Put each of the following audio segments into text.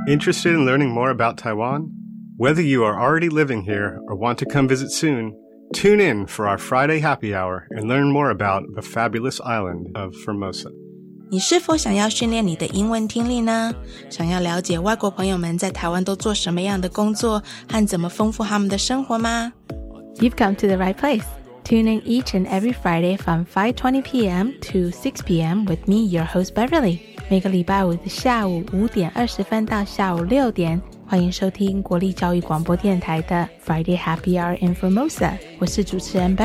Interested in learning more about Taiwan? Whether you are already living here or want to come visit soon, tune in for our Friday happy hour and learn more about the fabulous island of Formosa. 你是否想要训练你的英文听力呢？想要了解外国朋友们在台湾都做什么样的工作和怎么丰富他们的生活吗？ You've come to the right place. Tune in each and every Friday from 5:20 p.m. to 6 p.m. with me, your host Beverly. 每个礼拜五的下午5点20分到下午6点，欢迎收听国立教育广播电台的 Friday Happy Hour in Formosa. 我是主持人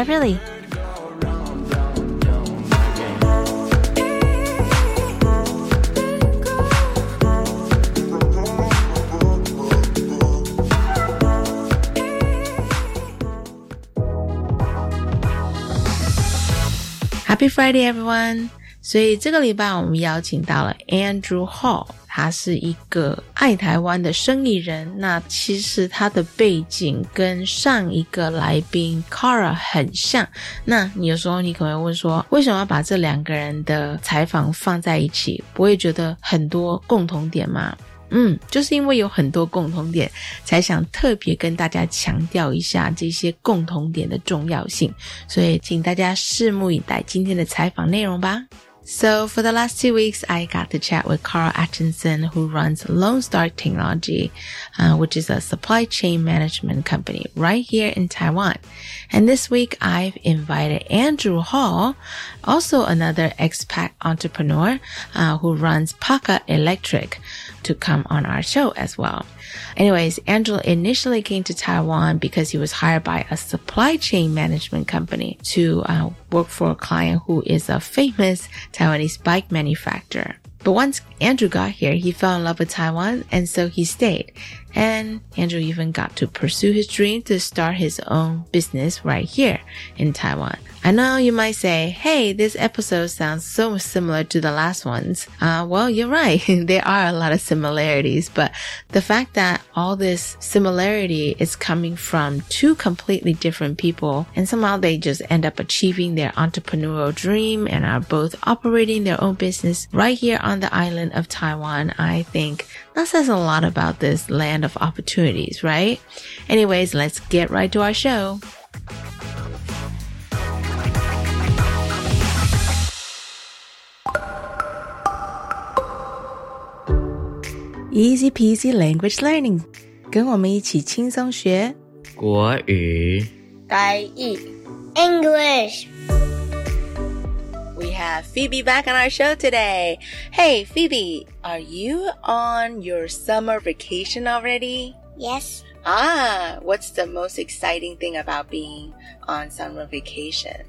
Beverly。Happy Friday, everyone! 所以这个礼拜我们邀请到了 Andrew Hall， 他是一个爱台湾的生意人。那其实他的背景跟上一个来宾 Cara 很像。那你有时候你可能会问说，为什么要把这两个人的采访放在一起？不会觉得很多共同点吗？就是因为有很多共同点，才想特别跟大家强调一下这些共同点的重要性。所以请大家拭目以待今天的采访内容吧。So for the last 2 weeks, I got to chat with Carl Atchison, who runs Lone Star Technology, which is a supply chain management company right here in Taiwan. And this week, I've invited Andrew Hall, also another expat entrepreneur, who runs Paka Electric, to come on our show as well. Anyways, Andrew initially came to Taiwan because he was hired by a supply chain management company to work for a client who is a famous Taiwanese bike manufacturer. But once Andrew got here, he fell in love with Taiwan, and so he stayed. And Andrew even got to pursue his dream to start his own business right here in Taiwan. I know you might say, hey, this episode sounds so similar to the last ones. Well, you're right. There are a lot of similarities, but the fact that all this similarity is coming from two completely different people, and somehow they just end up achieving their entrepreneurial dream and are both operating their own business right here on the island of Taiwan, I think that says a lot about this land of opportunities, right? Anyways, let's get right to our show. Easy peasy language learning. 跟我们一起轻松学国语台语 English. We have Phoebe back on our show today. Hey, Phoebe, are you on your summer vacation already? Yes. What's the most exciting thing about being on summer vacation?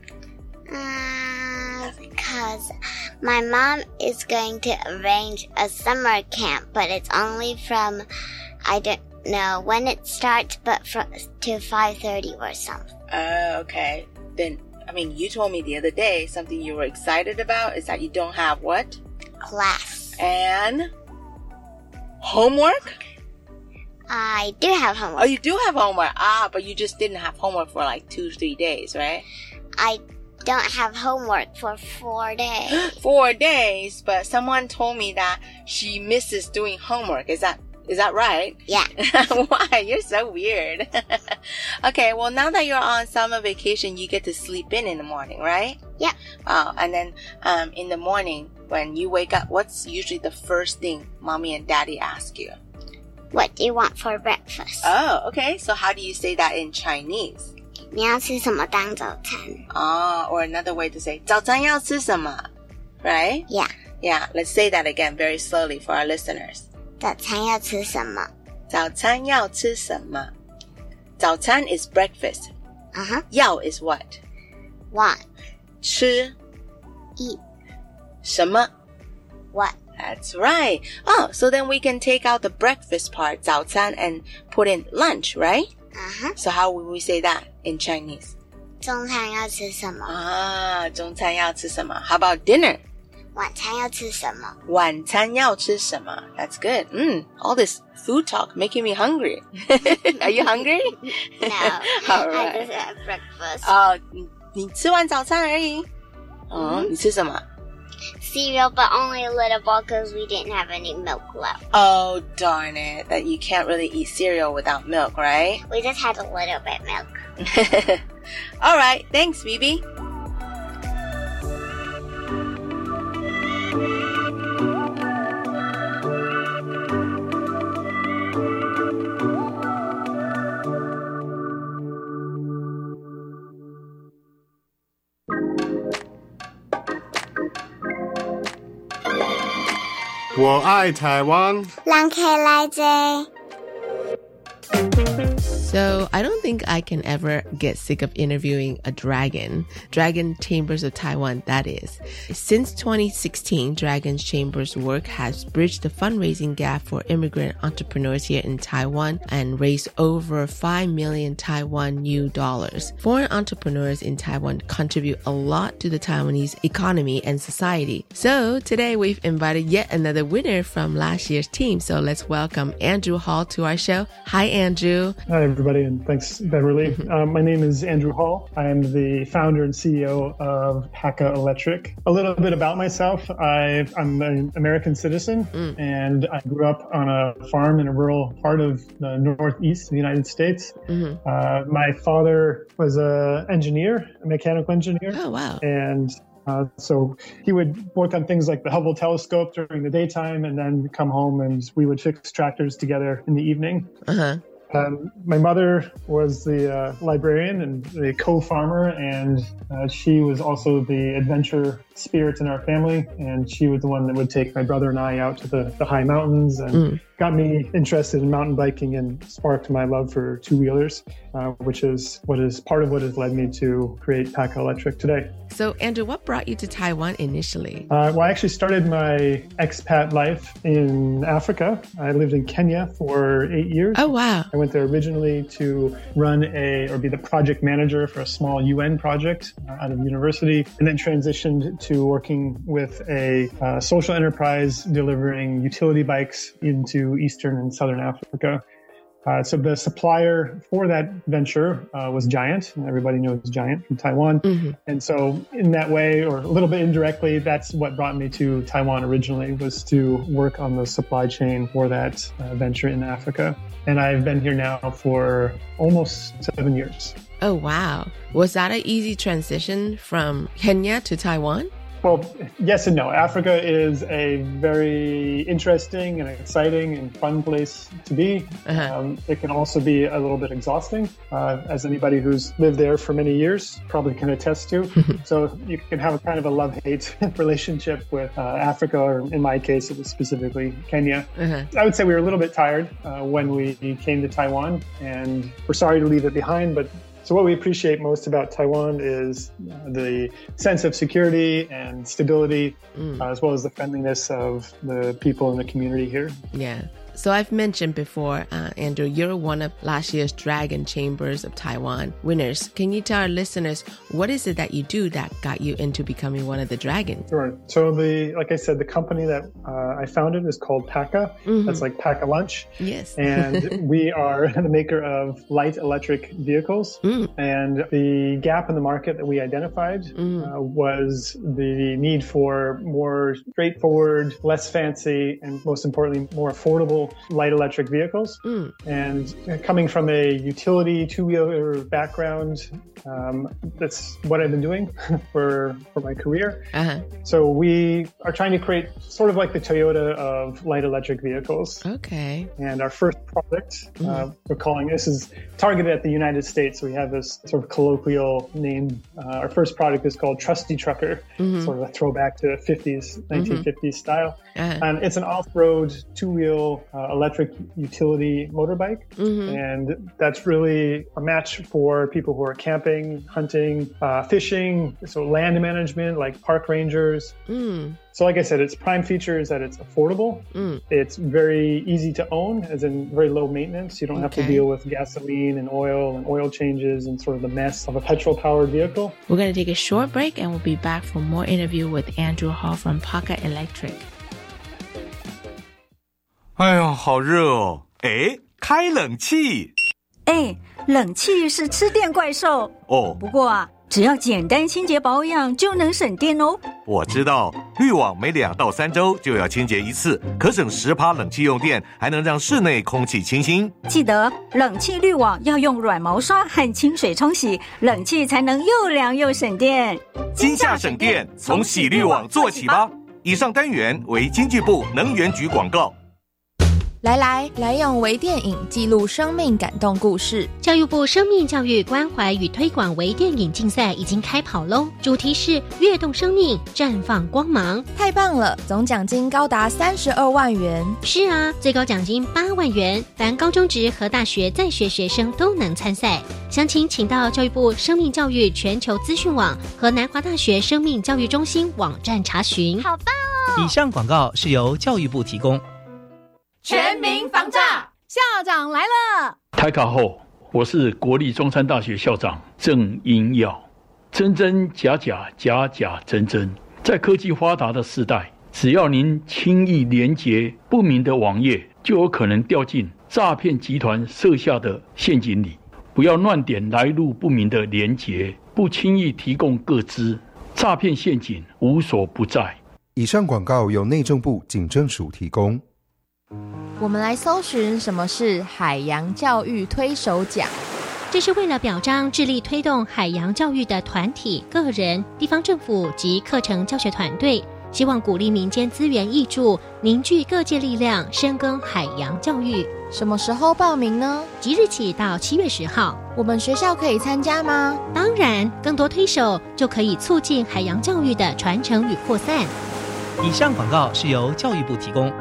Because my mom is going to arrange a summer camp, but it's only from, I don't know when it starts, but to 5:30 or something. Okay. Then, you told me the other day something you were excited about is that you don't have what? Class. And homework? I do have homework. Oh, you do have homework. But you just didn't have homework for like 2-3 days, right? I don't have homework for 4 days. 4 days, but someone told me that she misses doing homework. Is that right? Yeah. Why? You're so weird. Okay, well, now that you're on summer vacation, you get to sleep in the morning, right? Yeah. And then in the morning, when you wake up, what's usually the first thing mommy and daddy ask you? What do you want for breakfast? Oh, okay. So how do you say that in Chinese? 你要吃什么当早餐? Or another way to say 早餐要吃什么? Right? Yeah. Yeah, let's say that again very slowly for our listeners. 早餐要吃什么? 早餐要吃什么? 早餐 is breakfast. Uh-huh. 要 is what? Want. 吃 Eat. 什么? What? That's right. Oh, so then we can take out the breakfast part, 早餐, and put in lunch, right? Uh-huh. So how would we say that in Chinese? 中餐要吃什么? 中餐要吃什么? How about dinner? 晚餐要吃什么? 晚餐要吃什么? That's good. All this food talk making me hungry. Are you hungry? No. All right. I just had breakfast. 你吃完早餐而已。你吃什么? cereal, but only a little bowl because we didn't have any milk left. Oh, darn it. That you can't really eat cereal without milk, right? We just had a little bit milk. All right. Thanks, Phoebe. 我爱台湾。 人客来坐。 So I don't think I can ever get sick of interviewing a Dragon Chambers of Taiwan, that is. Since 2016, Dragon Chambers' work has bridged the fundraising gap for immigrant entrepreneurs here in Taiwan and raised over 5 million Taiwan new dollars. Foreign entrepreneurs in Taiwan contribute a lot to the Taiwanese economy and society. So today we've invited yet another winner from last year's team. So let's welcome Andrew Hall to our show. Hi, Andrew. Hi, everybody, and thanks, Beverly. My name is Andrew Hall. I'm the founder and CEO of Paka Electric. A little bit about myself. I'm an American citizen, and I grew up on a farm in a rural part of the northeast of the United States. My father was a mechanical engineer. Oh, wow. And so he would work on things like the Hubble telescope during the daytime and then come home and we would fix tractors together in the evening. My mother was the librarian and the co-farmer, and she was also the adventure spirit in our family, and she was the one that would take my brother and I out to the high mountains and got me interested in mountain biking and sparked my love for two-wheelers, which is part of what has led me to create Paka Electric today. So, Andrew, what brought you to Taiwan initially? Well, I actually started my expat life in Africa. I lived in Kenya for 8 years. Oh, wow. I went there originally to be the project manager for a small UN project out of university, and then transitioned to working with a social enterprise delivering utility bikes into Eastern and Southern Africa. So the supplier for that venture was Giant, and everybody knows Giant from Taiwan. And so in that way, or a little bit indirectly, that's what brought me to Taiwan originally, was to work on the supply chain for that venture in Africa. And I've been here now for almost 7 years. Oh, wow. Was that an easy transition from Kenya to Taiwan? Well, yes and no. Africa is a very interesting and exciting and fun place to be. It can also be a little bit exhausting, as anybody who's lived there for many years probably can attest to. So you can have a kind of a love-hate relationship with Africa, or in my case, it was specifically Kenya. I would say we were a little bit tired when we came to Taiwan, and we're sorry to leave it behind, but so what we appreciate most about Taiwan is the sense of security and stability, as well as the friendliness of the people in the community here. Yeah. So I've mentioned before, Andrew, you're one of last year's Dragon Chambers of Taiwan winners. Can you tell our listeners, what is it that you do that got you into becoming one of the Dragons? Sure. So like I said, the company that I founded is called Paka. That's like Paka Lunch. Yes. And we are the maker of light electric vehicles. And the gap in the market that we identified was the need for more straightforward, less fancy, and most importantly, more affordable light electric vehicles. And coming from a utility two-wheeler background, that's what I've been doing for my career. So we are trying to create sort of like the Toyota of light electric vehicles. Okay. And our first product, we're calling, this is targeted at the United States. So we have this sort of colloquial name. Our first product is called Trusty Trucker, sort of a throwback to 1950s style. And it's an off-road two-wheel electric utility motorbike. And that's really a match for people who are camping, hunting, fishing, so land management, like park rangers. So like I said, its prime feature is that it's affordable. It's very easy to own, as in very low maintenance. You don't have to deal with gasoline and oil changes and sort of the mess of a petrol-powered vehicle. We're going to take a short break and we'll be back for more interview with Andrew Hall from Paka Electric. 哎呦，好热哦！哎，开冷气。 哎，冷气是吃电怪兽哦。不过啊， 只要简单清洁保养就能省电哦。 我知道，滤网每2到3周就要清洁一次，可省10%冷气用电，还能让室内空气清新。 记得冷气滤网要用软毛刷和清水冲洗，冷气才能又凉又省电。 今夏省电，从洗滤网做起吧。以上单元为经济部能源局广告。 来用微电影记录生命感动故事。 教育部生命教育关怀与推广微电影竞赛已经开跑喽，主题是跃动生命，绽放光芒。 太棒了，总奖金高达32万元。 是啊，最高奖金8万元，凡高中职和大学在学学生都能参赛。详情请到教育部生命教育全球资讯网和南华大学生命教育中心网站查询。 好棒哦！ 以上广告是由教育部提供。 全民防诈，校长来了。 台卡后，我是国立中山大学校长郑英耀。真真假假，假假真真，在科技发达的时代，只要您轻易连结不明的网页，就有可能掉进诈骗集团设下的陷阱里。不要乱点来路不明的连结，不轻易提供个资，诈骗陷阱无所不在。 以上广告由内政部警政署提供。 我们来搜寻什么是海洋教育推手奖。 这是为了表彰致力推动海洋教育的团体、个人、地方政府及课程教学团队，希望鼓励民间资源挹注，凝聚各界力量，深耕海洋教育。 什么时候报名呢？ 即日起到7月10号。 我们学校可以参加吗？ 当然，更多推手就可以促进海洋教育的传承与扩散。 以上广告是由教育部提供。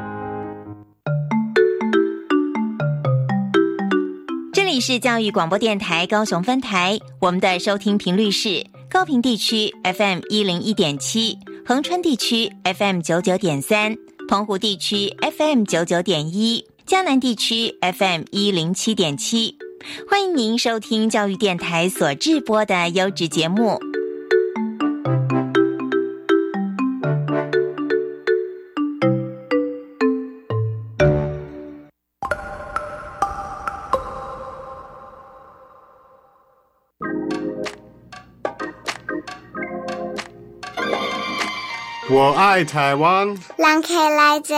这里是教育广播电台高雄分台，我们的收听频率是高屏地区 FM 101.7，恒春地区 FM 99.3，澎湖地区 FM 99.1，嘉南地区 FM 107.7。欢迎您收听教育电台所制播的优质节目。 我爱台湾。 人客来坐。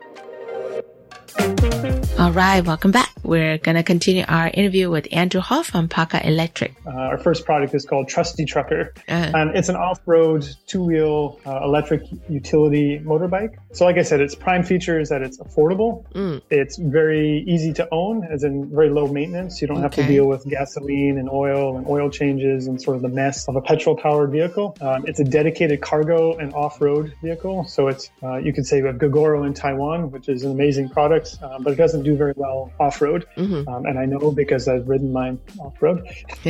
All right, welcome back. We're going to continue our interview with Andrew Hall from Paka Electric. Our first product is called Trusty Trucker. It's an off-road two-wheel electric utility motorbike. So like I said, its prime feature is that it's affordable. It's very easy to own, as in very low maintenance. You don't have to deal with gasoline and oil changes and sort of the mess of a petrol-powered vehicle. It's a dedicated cargo and off-road vehicle. So it's, you could say, a Gogoro in Taiwan, which is an amazing product, but it doesn't do very well off-road. And I know because I've ridden mine off-road.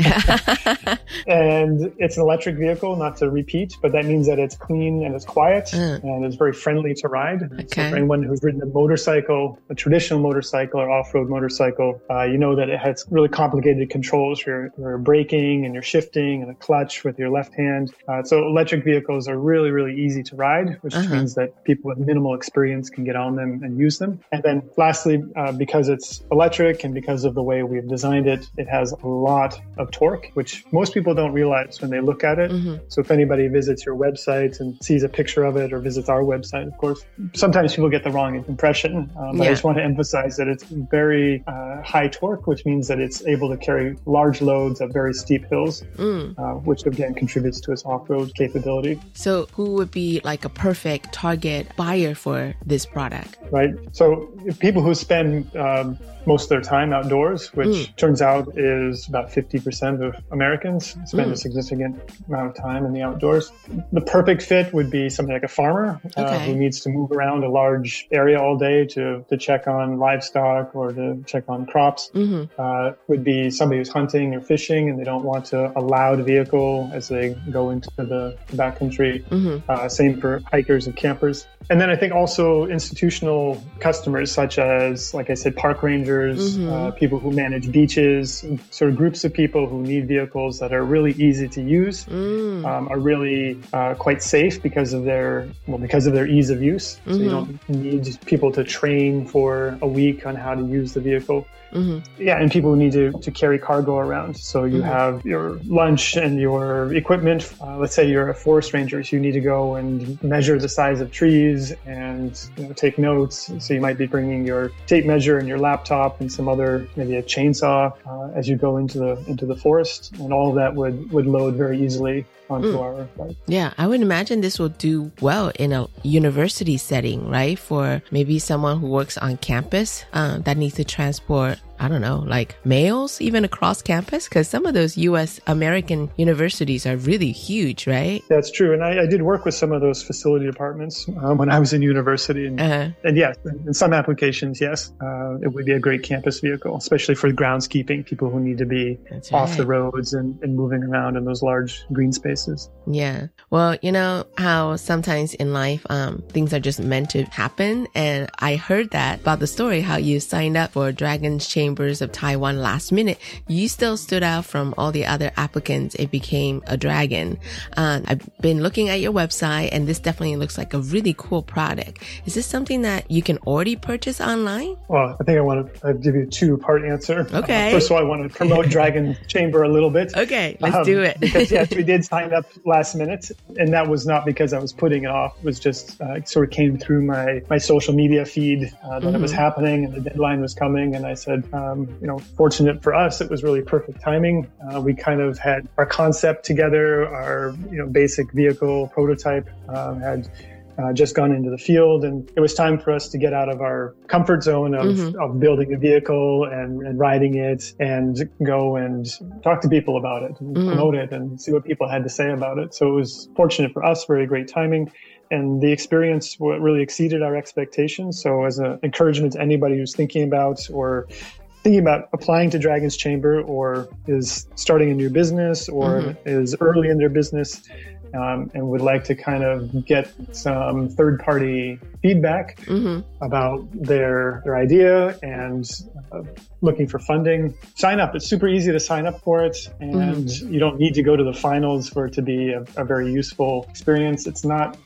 And it's an electric vehicle, not to repeat, but that means that it's clean and it's quiet and it's very friendly to ride. So for anyone who's ridden a motorcycle, a traditional motorcycle or off-road motorcycle, you know that it has really complicated controls for your braking and your shifting and a clutch with your left hand. So electric vehicles are really, really easy to ride, which means that people with minimal experience can get on them and use them. And then lastly, because it's electric and because of the way we've designed it, it has a lot of torque, which most people don't realize when they look at it. So if anybody visits your website and sees a picture of it or visits our website, of course, sometimes people get the wrong impression. But I just want to emphasize that it's very high torque, which means that it's able to carry large loads up very steep hills, which again contributes to its off-road capability. So who would be like a perfect target buyer for this product? Right. So people who spend most of their time outdoors, which turns out is about 50% of Americans spend a significant amount of time in the outdoors. The perfect fit would be something like a farmer who needs to move around a large area all day to check on livestock or to check on crops. Would be somebody who's hunting or fishing and they don't want a loud vehicle as they go into the backcountry. Same for hikers and campers. And then I think also institutional customers such as, like I said, park rangers, people who manage beaches, sort of groups of people who need vehicles that are really easy to use, are really quite safe because of their ease of use. So you don't need people to train for a week on how to use the vehicle. Yeah, and people who need to carry cargo around. So you have your lunch and your equipment. Let's say you're a forest ranger, so you need to go and measure the size of trees and take notes. So you might be bringing your tape measure and your laptop and some other, maybe a chainsaw, as you go into the forest, and all of that would load very easily onto our bike. Yeah, I would imagine this will do well in a university setting, right? For maybe someone who works on campus that needs to transport, I don't know, like mails even across campus, because some of those U.S. American universities are really huge, right? That's true. And I did work with some of those facility departments when I was in university. And yes, in some applications, yes, it would be a great campus vehicle, especially for groundskeeping, people who need to be off the roads and moving around in those large green spaces. Yeah. Well, you know how sometimes in life, things are just meant to happen. And I heard that about the story, how you signed up for Dragon's Chambers of Taiwan last minute. You still stood out from all the other applicants. It became a Dragon. I've been looking at your website, and this definitely looks like a really cool product. Is this something that you can already purchase online? Well, I think I want to give you a two-part answer. Okay. First of all, I want to promote Dragon Chamber a little bit. Okay, let's do it. Because yes, we did sign up last minute, and that was not because I was putting it off. It was just sort of came through my social media feed that it was happening and the deadline was coming, and I said, fortunate for us, it was really perfect timing. We kind of had our concept together, our basic vehicle prototype had just gone into the field, and it was time for us to get out of our comfort zone of building a vehicle and riding it, and go and talk to people about it and promote it and see what people had to say about it. So it was fortunate for us, very great timing. And the experience really exceeded our expectations. So as an encouragement to anybody who's thinking about applying to Dragon's Chamber, or is starting a new business, or is early in their business, and would like to kind of get some third-party feedback about their idea and looking for funding, sign up. It's super easy to sign up for it, and you don't need to go to the finals for it to be a very useful experience. It's not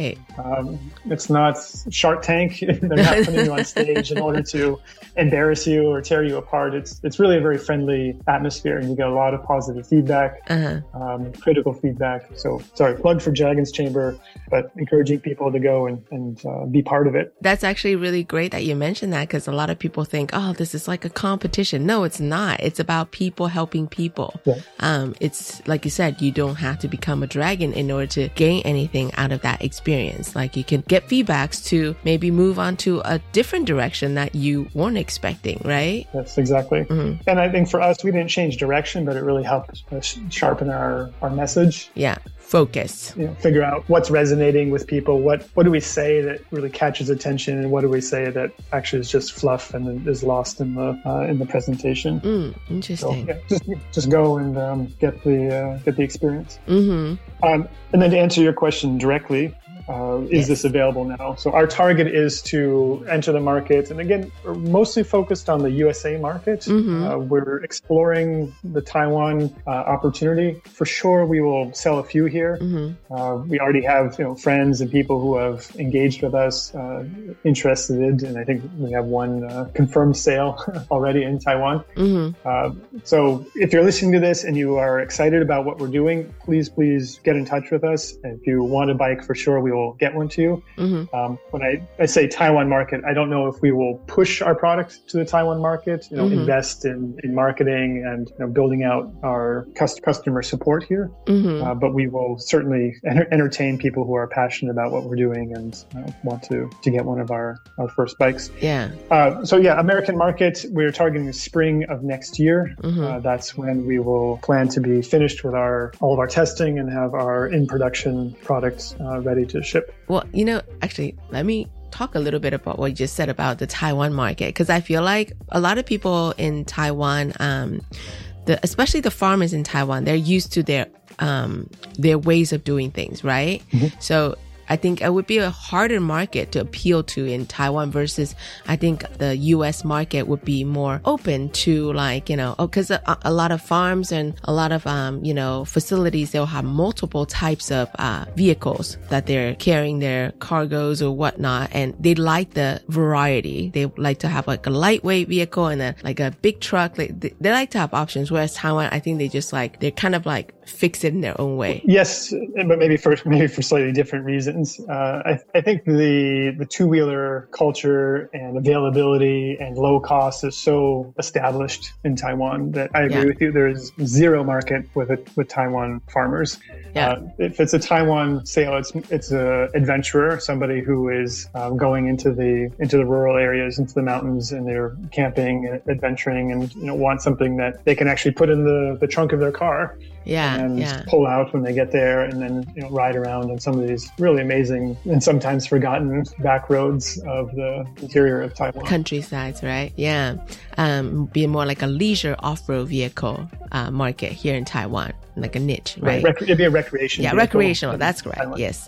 it's not Shark Tank. They're not putting you on stage in order to embarrass you or tear you apart. It's really a very friendly atmosphere, and you get a lot of positive feedback, critical feedback. So sorry, plug for Dragon's Chamber, but encouraging people to go and be part of it. That's actually really great that you mentioned that, because a lot of people think, oh, this is like a competition. No, it's not. It's about people helping people. Yeah. It's like you said, you don't have to become a dragon in order to gain anything out of that experience. Like, you can get feedbacks to maybe move on to a different direction that you weren't expecting, right? Yes, exactly. And I think for us, we didn't change direction, but it really helped us sharpen our message. Yeah. Focus. Figure out what's resonating with people. What do we say that really catches attention, and what do we say that actually is just fluff and is lost in the presentation? Interesting. So, just go and get the experience. And then to answer your question directly, is this available now? So our target is to enter the market. And again, we're mostly focused on the USA market. We're exploring the Taiwan opportunity. For sure, we will sell a few here. We already have friends and people who have engaged with us, interested, and I think we have one confirmed sale already in Taiwan. So if you're listening to this and you are excited about what we're doing, please get in touch with us. And if you want a bike, for sure, we will get one to you. When I say Taiwan market, I don't know if we will push our product to the Taiwan market, invest in marketing and building out our customer support here. But we will certainly entertain people who are passionate about what we're doing and want to get one of our first bikes. American market, we're targeting the spring of next year. That's when we will plan to be finished with all of our testing and have our in-production products ready to ship. Well, actually, let me talk a little bit about what you just said about the Taiwan market, because I feel like a lot of people in Taiwan, especially the farmers in Taiwan, they're used to their ways of doing things, right? So I think it would be a harder market to appeal to in Taiwan versus I think the US market would be more open to like, because a lot of farms and a lot of, facilities, they'll have multiple types of vehicles that they're carrying their cargoes or whatnot. And they like the variety. They like to have like a lightweight vehicle and a big truck. They like to have options. Whereas Taiwan, I think they're kind of like fix it in their own way. Yes, but maybe for slightly different reasons. I think the two-wheeler culture and availability and low cost is so established in Taiwan that I agree with you. There is zero market with Taiwan farmers. Yeah. If it's a Taiwan sale, it's a adventurer, somebody who is going into the rural areas, into the mountains, and they're camping and adventuring, and want something that they can actually put in the trunk of their car. And pull out when they get there, and then ride around on some of these really amazing and sometimes forgotten back roads of the interior of Taiwan. Countrysides, right? Yeah. Be more like a leisure off-road vehicle market here in Taiwan, like a niche, right? It'd be a recreation. Yeah, recreational. That's correct. Taiwan. Yes.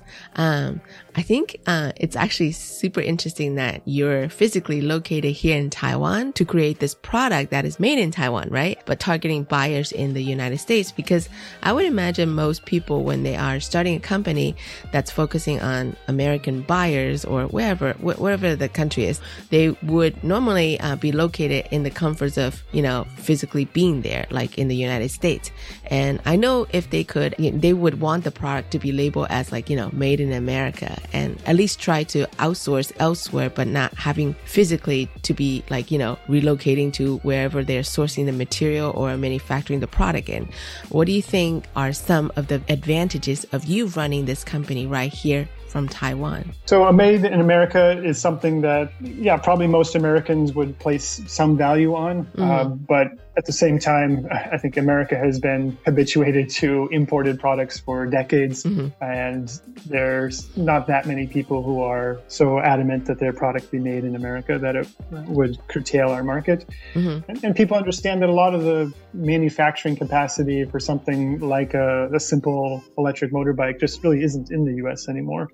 I think it's actually super interesting that you're physically located here in Taiwan to create this product that is made in Taiwan, right? But targeting buyers in the United States, because I would imagine most people, when they are starting a company that's focusing on American buyers or wherever the country is, they would normally be located in the comforts of, physically being there, like in the United States. And I know if they could, they would want the product to be labeled as like, made in America, and at least try to outsource elsewhere, but not having physically to be like, relocating to wherever they're sourcing the material or manufacturing the product in. What do you think are some of the advantages of you running this company right here from Taiwan? So a made in America is something that, probably most Americans would place some value on. But at the same time, I think America has been habituated to imported products for decades. And there's not that many people who are so adamant that their product be made in America that it would curtail our market. And people understand that a lot of the manufacturing capacity for something like a simple electric motorbike just really isn't in the US anymore.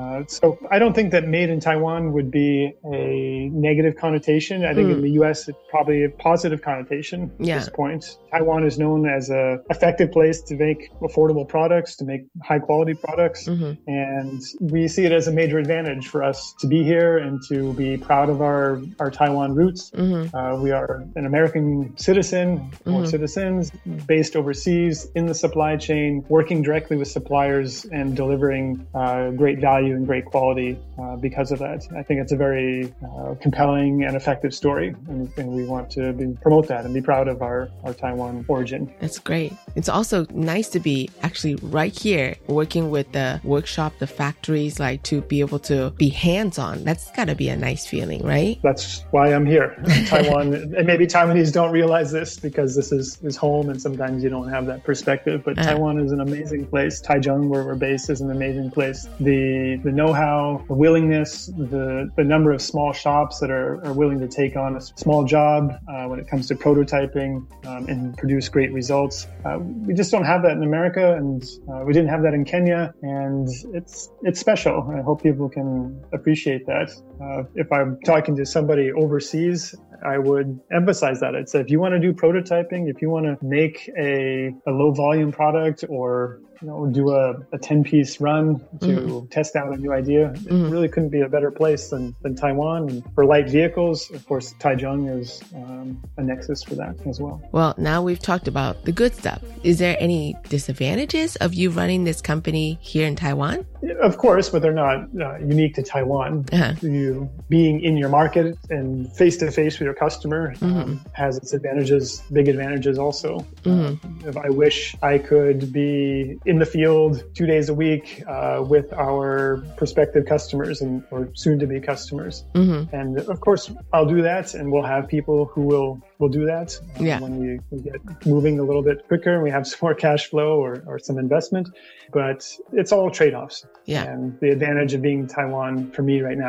So I don't think that made in Taiwan would be a negative connotation. I think in the US, it's probably a positive connotation at this point. Taiwan is known as an effective place to make affordable products, to make high quality products. And we see it as a major advantage for us to be here and to be proud of our Taiwan roots. We are an American citizen or citizens based overseas in the supply chain, working directly with suppliers and delivering great value and great quality because of that. I think it's a very compelling and effective story, and we want to promote that and be proud of our Taiwan origin. That's great. It's also nice to be actually right here working with the workshop, the factories, like to be able to be hands-on. That's got to be a nice feeling, right? That's why I'm here. Taiwan, and maybe Taiwanese don't realize this because this is home, and sometimes you don't have that perspective, but Taiwan is an amazing place. Taichung, where we're based, is an amazing place. The know-how, the willingness, the number of small shops that are willing to take on a small job when it comes to prototyping and produce great results. We just don't have that in America, and we didn't have that in Kenya, and it's special. I hope people can appreciate that. If I'm talking to somebody overseas, I would emphasize that. It's if you want to do prototyping, if you want to make a low volume product, or do a 10-piece run to test out a new idea, it really couldn't be a better place than Taiwan. And for light vehicles, of course, Taichung is a nexus for that as well. Well, now we've talked about the good stuff. Is there any disadvantages of you running this company here in Taiwan? Of course, but they're not unique to Taiwan. You being in your market and face-to-face with your customer has its advantages, big advantages also. If I wish I could be in the field 2 days a week with our prospective customers or soon-to-be customers. And of course, I'll do that, and we'll have people who will do that when we get moving a little bit quicker and we have some more cash flow or some investment. But it's all trade-offs. And the advantage of being in Taiwan for me right now outweighs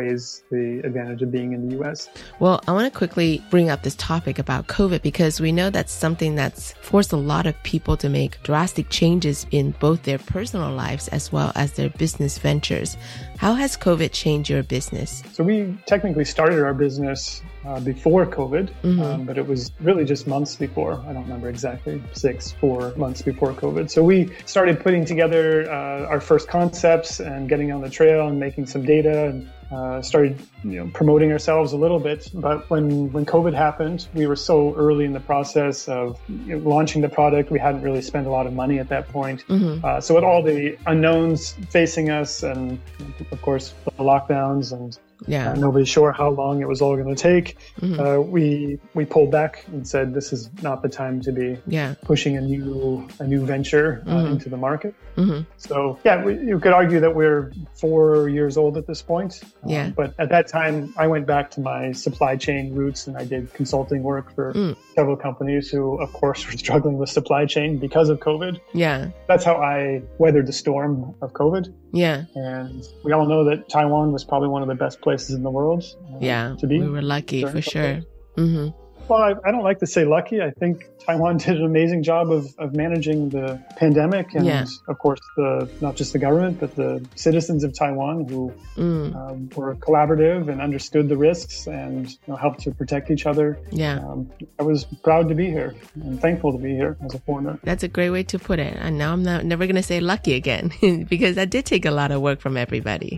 outweighs the advantage of being in the U.S. Well, I want to quickly bring up this topic about COVID because we know that's something that's forced a lot of people to make drastic changes in both their personal lives as well as their business ventures. How has COVID changed your business? So we technically started our business before COVID, but it was really just months before. I don't remember exactly, 4 months before COVID. So we started putting together our first concepts and getting on the trail and making some data and started promoting ourselves a little bit. But when COVID happened, we were so early in the process of launching the product. We hadn't really spent a lot of money at that point. So with all the unknowns facing us and, of course, the lockdowns and nobody's sure how long it was all going to take. We pulled back and said this is not the time to be pushing a new venture into the market. So you could argue that we're 4 years old at this point. But at that time, I went back to my supply chain roots and I did consulting work for several companies who, of course, were struggling with supply chain because of COVID. That's how I weathered the storm of COVID. And we all know that Taiwan was probably one of the best places in the world to be. We were lucky for sure. Well, I don't like to say lucky. I think Taiwan did an amazing job of managing the pandemic and, of course, not just the government, but the citizens of Taiwan who were collaborative and understood the risks and helped to protect each other. I was proud to be here and thankful to be here as a foreigner. That's a great way to put it. And now I'm never going to say lucky again because that did take a lot of work from everybody.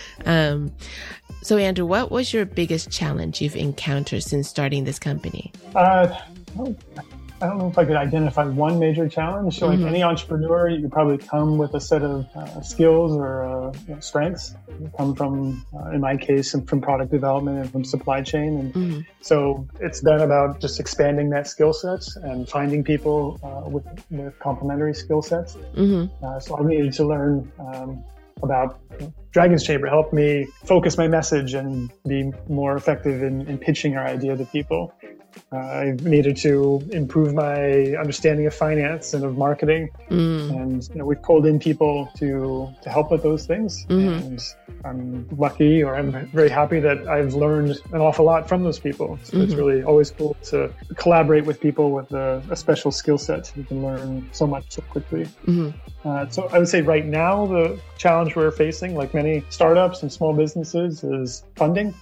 So, Andrew, what was your biggest challenge you've encountered since starting this company? I don't know if I could identify one major challenge. So like any entrepreneur, you probably come with a set of skills or strengths. You come from, in my case, from product development and from supply chain. And so it's been about just expanding that skill set and finding people with complementary skill sets. So I needed to learn about Dragon's Chamber helped me focus my message and be more effective in pitching our idea to people. I needed to improve my understanding of finance and of marketing. And we've pulled in people to help with those things. And I'm lucky, or I'm very happy that I've learned an awful lot from those people. So it's really always cool to collaborate with people with a special skill set. You can learn so much so quickly. So I would say right now, the challenge we're facing, like many startups and small businesses, is funding.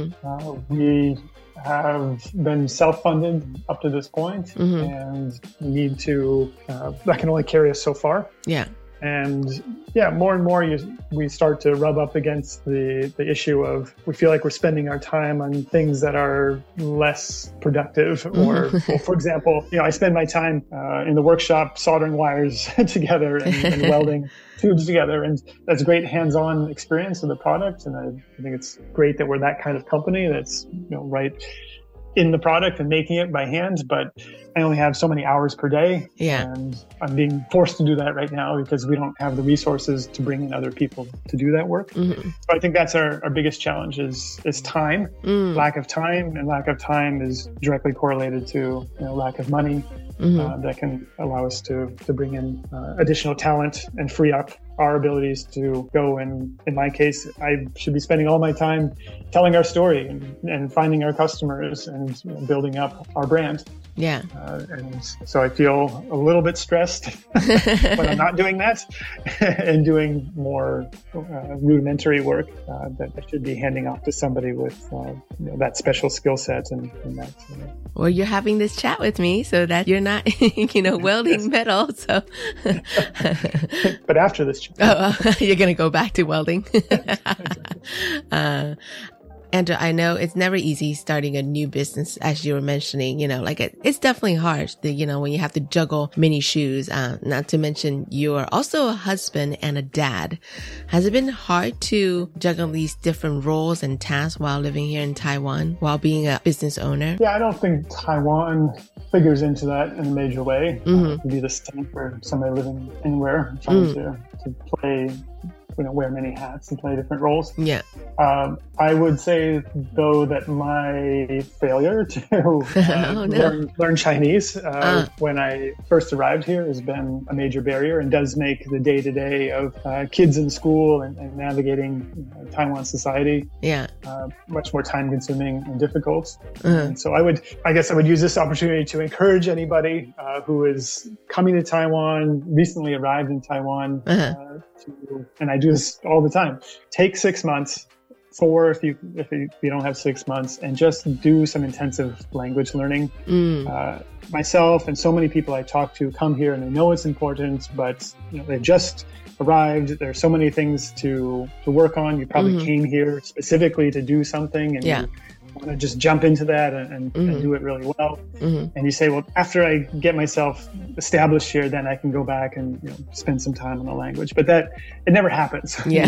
We have been self-funded up to this point, and we need to, that can only carry us so far. And more and more we start to rub up against the issue of we feel like we're spending our time on things that are less productive. Or, for example, I spend my time in the workshop soldering wires together and welding tubes together. And that's a great hands-on experience of the product. And I think it's great that we're that kind of company that's right in the product and making it by hand, but I only have so many hours per day. And I'm being forced to do that right now because we don't have the resources to bring in other people to do that work. So I think that's our biggest challenge is time. Lack of time, and lack of time is directly correlated to lack of money that can allow us to bring in additional talent and free up our abilities to go. And in my case, I should be spending all my time telling our story and finding our customers and building up our brand. And so I feel a little bit stressed when I'm not doing that and doing more rudimentary work that I should be handing off to somebody with that special skill set and that. Well, you're having this chat with me so that you're not, welding metal. So, but after this chat, you're going to go back to welding. Andrew, I know it's never easy starting a new business, as you were mentioning, it's definitely hard, when you have to juggle many shoes, not to mention you are also a husband and a dad. Has it been hard to juggle these different roles and tasks while living here in Taiwan, while being a business owner? I don't think Taiwan figures into that in a major way. It would be the same for somebody living anywhere trying to play wear many hats and play different roles. Yeah. I would say, though, that my failure to learn Chinese when I first arrived here has been a major barrier and does make the day-to-day of kids in school and navigating Taiwan society much more time-consuming and difficult. And so I guess I would use this opportunity to encourage anybody who is coming to Taiwan, recently arrived in Taiwan, and I do this all the time, take 6 months, 4 if you don't have 6 months, and just do some intensive language learning. Myself and so many people I talk to come here and they know it's important, but they've just arrived. There's so many things to work on. You probably came here specifically to do something, and you want to just jump into that and do it really well. And you say, well, after I get myself established here, then I can go back and spend some time on the language. But it never happens. You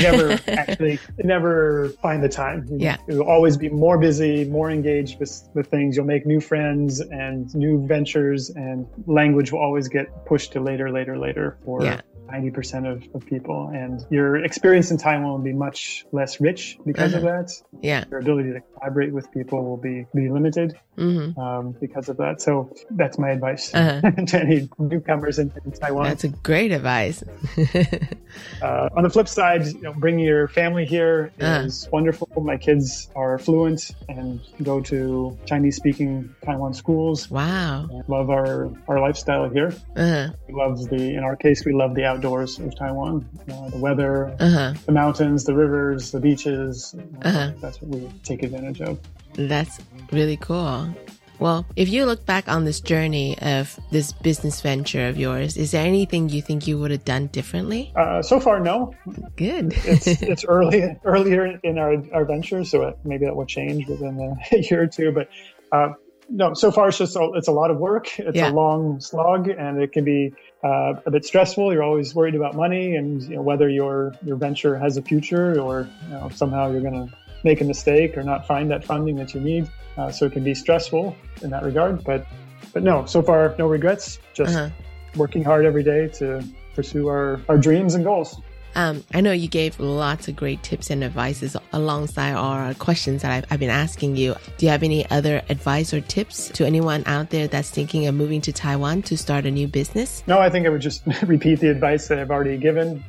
never find the time. You'll always be more busy, more engaged with things. You'll make new friends and new ventures, and language will always get pushed to later for 90% of people, and your experience in Taiwan will be much less rich because of that. Your ability to collaborate with people will be limited because of that. So that's my advice to any newcomers in Taiwan. That's a great advice. On the flip side, bringing your family here is wonderful. My kids are fluent and go to Chinese-speaking Taiwan schools. Wow. Love our lifestyle here. We love in our case, we love the outdoors of Taiwan, the weather, the mountains, the rivers, the beaches. That's what we take advantage of. That's really cool. Well, if you look back on this journey of this business venture of yours, is there anything you think you would have done differently? So far, no. Good. It's earlier in our venture, so maybe that will change within a year or two. But no, so far it's a lot of work. It's a long slog, and it can be a bit stressful. You're always worried about money and whether your venture has a future, or somehow you're going to make a mistake or not find that funding that you need. So it can be stressful in that regard. But no, so far no regrets. Just working hard every day to pursue our dreams and goals. I know you gave lots of great tips and advices alongside our questions that I've been asking you. Do you have any other advice or tips to anyone out there that's thinking of moving to Taiwan to start a new business? No, I think I would just repeat the advice that I've already given.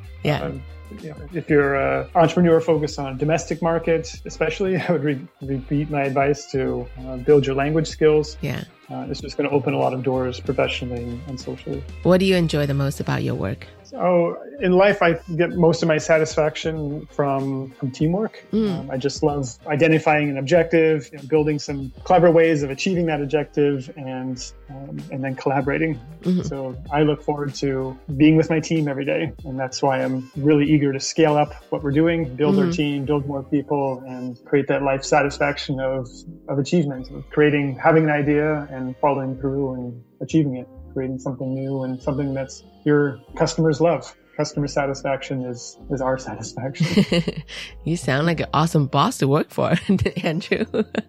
If you're an entrepreneur focused on domestic markets, especially, I would repeat my advice to build your language skills. It's just going to open a lot of doors professionally and socially. What do you enjoy the most about your work? So in life, I get most of my satisfaction from teamwork. I just love identifying an objective, building some clever ways of achieving that objective, and then collaborating. So I look forward to being with my team every day, and that's why I'm really eager to scale up what we're doing, build our team, build more people, and create that life satisfaction of achievement, of having an idea and following through and achieving it, creating something new and something that's your customers love. Customer satisfaction is our satisfaction. You sound like an awesome boss to work for, Andrew.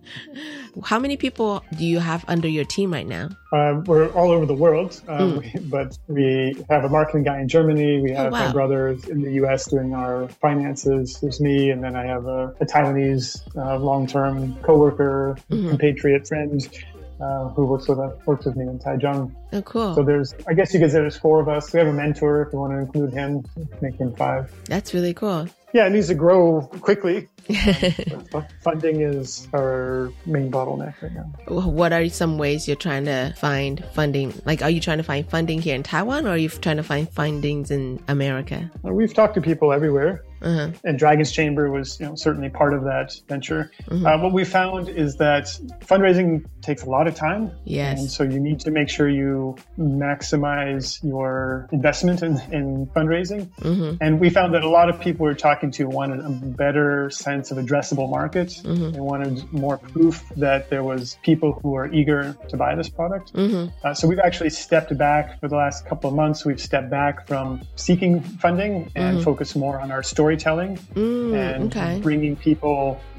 How many people do you have under your team right now? We're all over the world, but we have a marketing guy in Germany. We have my brothers in the U.S. doing our finances. There's me, and then I have a Taiwanese long-term coworker, compatriot friend, who works with me in Taichung. Oh, cool. So I guess you could say there's 4 of us. We have a mentor if you want to include him, make him 5. That's really cool. Yeah, it needs to grow quickly. Funding is our main bottleneck right now. What are some ways you're trying to find funding? Like, are you trying to find funding here in Taiwan, or are you trying to find fundings in America? We've talked to people everywhere. And Dragon's Chamber was certainly part of that venture. What we found is that fundraising takes a lot of time. Yes. And so you need to make sure you maximize your investment in fundraising. And we found that a lot of people we're talking to wanted a better sense of addressable market. They wanted more proof that there was people who are eager to buy this product. So we've actually stepped back for the last couple of months. We've stepped back from seeking funding and focused more on our storytelling and bringing people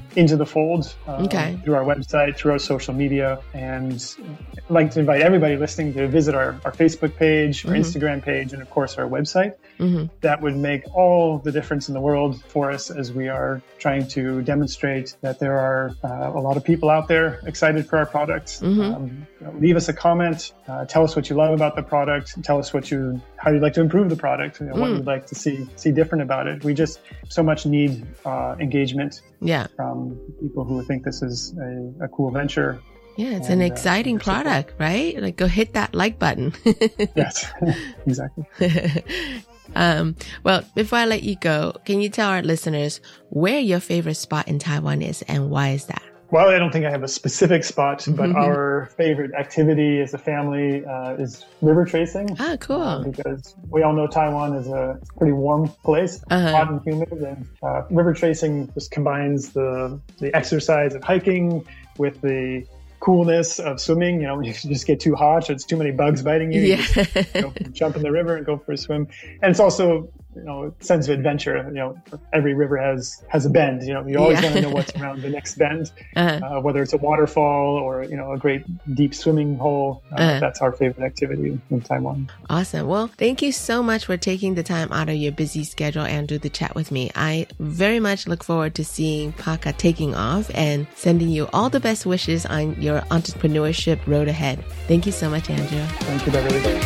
into the fold Okay. through our website, through our social media. And I'd like to invite everybody listening to visit our Facebook page, our Instagram page, and of course our website. That would make all the difference in the world for us as we are trying to demonstrate that there are a lot of people out there excited for our products. Leave us a comment, tell us what you love about the product, tell us how you'd like to improve the product, what you'd like to see different about it. We just so much need engagement from people who think this is a cool venture. Yeah, it's an exciting product, right? Like, go hit that like button. Yes, exactly. Well, before I let you go, can you tell our listeners where your favorite spot in Taiwan is and why is that? Well, I don't think I have a specific spot, but our favorite activity as a family is river tracing. Ah, cool. Because we all know Taiwan is a pretty warm place, hot and humid, and river tracing just combines the exercise of hiking with the coolness of swimming. You just get too hot, it's too many bugs biting you. You just go jump in the river and go for a swim. And it's also, a sense of adventure. Every river has a bend. You always want to know what's around the next bend, whether it's a waterfall or, a great deep swimming hole. That's our favorite activity in Taiwan. Awesome. Well, thank you so much for taking the time out of your busy schedule, Andrew, to chat with me. I very much look forward to seeing Paka taking off and sending you all the best wishes on your entrepreneurship road ahead. Thank you so much, Andrew. Thank you, Beverly.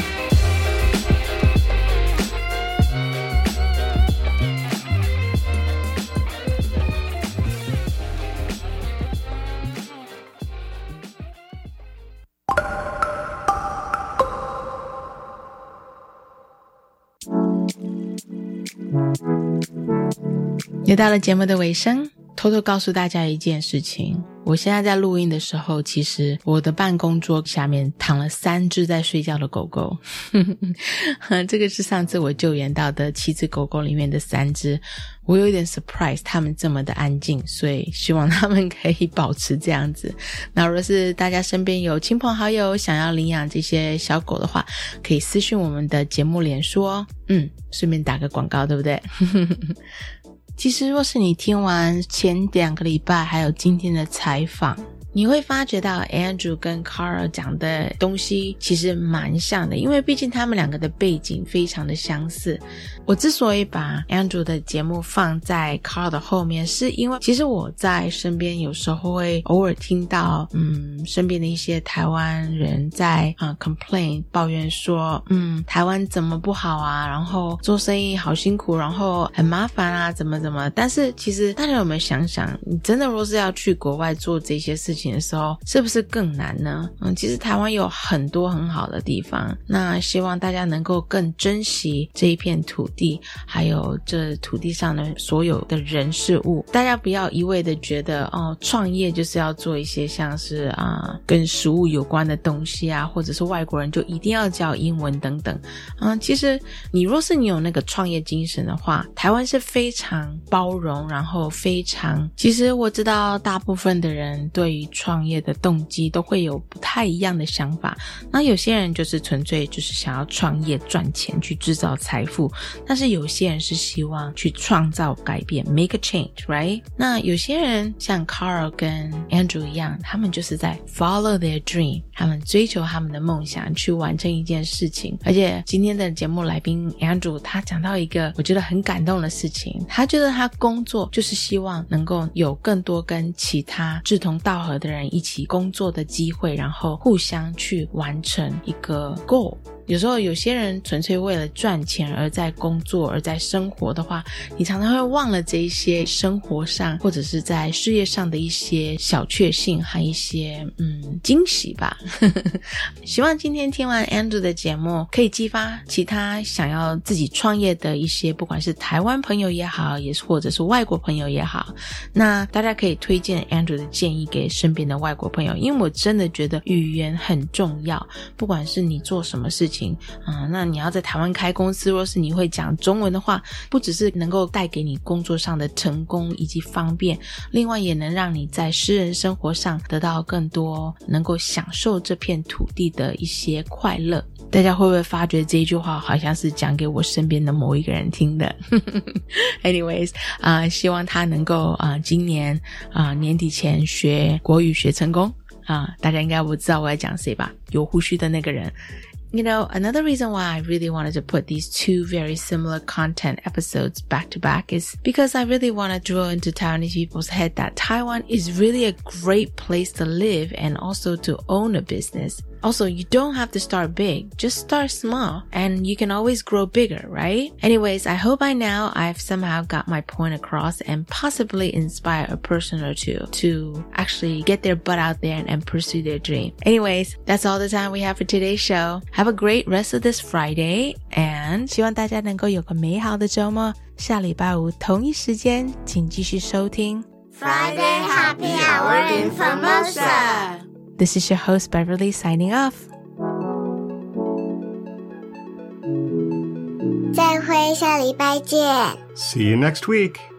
又到了节目的尾声，偷偷告诉大家一件事情，我现在在录音的时候，其实我的办公桌下面躺了3只在睡觉的狗狗这个是上次我救援到的7只狗狗里面的3只，我有一点 surprise 他们这么的安静，所以希望他们可以保持这样子。那如果是大家身边有亲朋好友想要领养这些小狗的话，可以私讯我们的节目脸书哦。顺便打个广告，对不对其实若是你听完前2个礼拜还有今天的采访，你会发觉到 Andrew 跟 Carl 讲的东西其实蛮像的，因为毕竟他们两个的背景非常的相似。我之所以把 Andrew 的节目放在 Carl 的后面，是因为其实我在身边有时候会偶尔听到身边的一些台湾人在complain 抱怨说台湾怎么不好啊，然后做生意好辛苦，然后很麻烦啊，怎么，但是其实大家有没有想想，你真的若是要去国外做这些事情的时候，是不是更难呢？其实台湾有很多很好的地方，那希望大家能够更珍惜这一片土地，还有这土地上的所有的人事物。大家不要一味的觉得创业就是要做一些像是跟食物有关的东西啊，或者是外国人就一定要教英文等等。其实你若是你有那个创业精神的话，台湾是非常包容，然后其实我知道大部分的人对于创业的动机都会有不太一样的想法，那有些人就是纯粹就是想要创业赚钱去制造财富，但是有些人是希望去创造改变 make a change right。 那有些人像 Carl 跟 Andrew 一样，他们就是在 follow their dream， 他们追求他们的梦想，去完成一件事情。而且今天的节目来宾 Andrew 他讲到一个我觉得很感动的事情，他觉得他工作就是希望能够有更多跟其他志同道合的人一起工作的机会，然后互相去完成一个 goal。有时候有些人纯粹为了赚钱而在工作而在生活的话，你常常会忘了这一些生活上或者是在事业上的一些小确幸和一些惊喜吧希望今天听完 Andrew 的节目可以激发其他想要自己创业的一些不管是台湾朋友也好，也是或者是外国朋友也好，那大家可以推荐 Andrew 的建议给身边的外国朋友，因为我真的觉得语言很重要，不管是你做什么事情情那你要在台湾开公司，若是你会讲中文的话，不只是能够带给你工作上的成功以及方便，另外也能让你在私人生活上得到更多能够享受这片土地的一些快乐。大家会不会发觉这一句话好像是讲给我身边的某一个人听的Anyways 希望他能够今年年底前学国语学成功大家应该不知道我在讲谁吧，有胡须的那个人。You know, another reason why I really wanted to put these two very similar content episodes back to back is because I really want to drill into Taiwanese people's head that Taiwan is really a great place to live and also to own a business. Also, you don't have to start big, just start small and you can always grow bigger, right? Anyways, I hope by now I've somehow got my point across and possibly inspire a person or two to actually get their butt out there and pursue their dream. Anyways, that's all the time we have for today's show. Have a great rest of this Friday and 希望大家能够有个美好的周末。下礼拜五同一时间请继续收听 Friday Happy Hour in Formosa.This is your host Beverly signing off. 再会，下礼拜见。 See you next week.